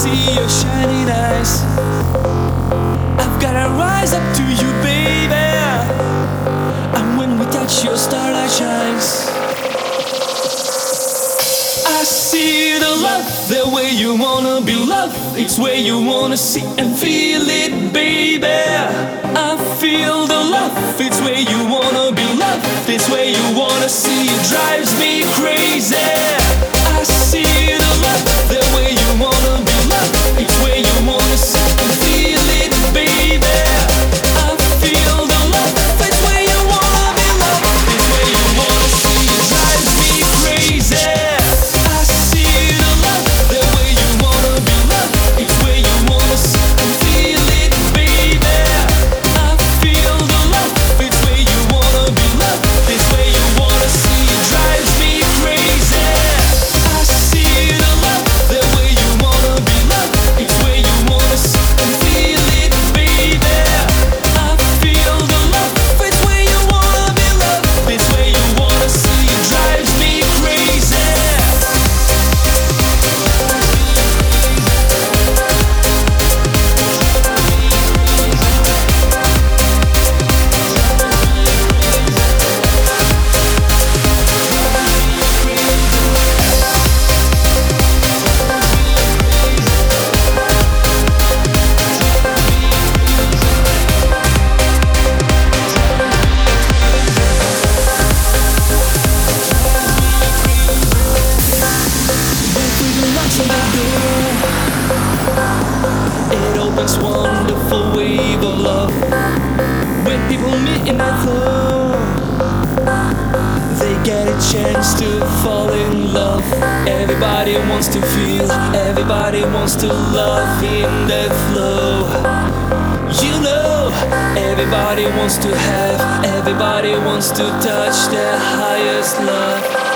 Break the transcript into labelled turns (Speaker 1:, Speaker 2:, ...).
Speaker 1: see your shining eyes. I've gotta rise up to you, baby. And when we touch, your starlight shines. I see the love, the way you wanna be loved. It's where you wanna see and feel it, baby. I feel the love, it's where you wanna be loved. It's where you wanna see, it drives me crazy. I see the love, the way you wanna be loved. It's where you wanna see and feel it, baby. I feel the love, it's where you wanna be loved. It's where you wanna see, it drives me crazy. I see the love, the way you wanna be loved. It's where you wanna see and feel it, baby. I feel the love, it's where you wanna be loved. It's where you wanna see, it drives me crazy. I see the love, the way you wanna be loved. It's where you wanna see and feel it, baby. I feel the love, it's where you wanna be loved. It's where you wanna see, it drives me crazy. It opens wonderful wave of love. When people meet in that flow, they get a chance to fall in love. Everybody wants to feel, everybody wants to love in that flow. You know, everybody wants to have, everybody wants to touch their highest love.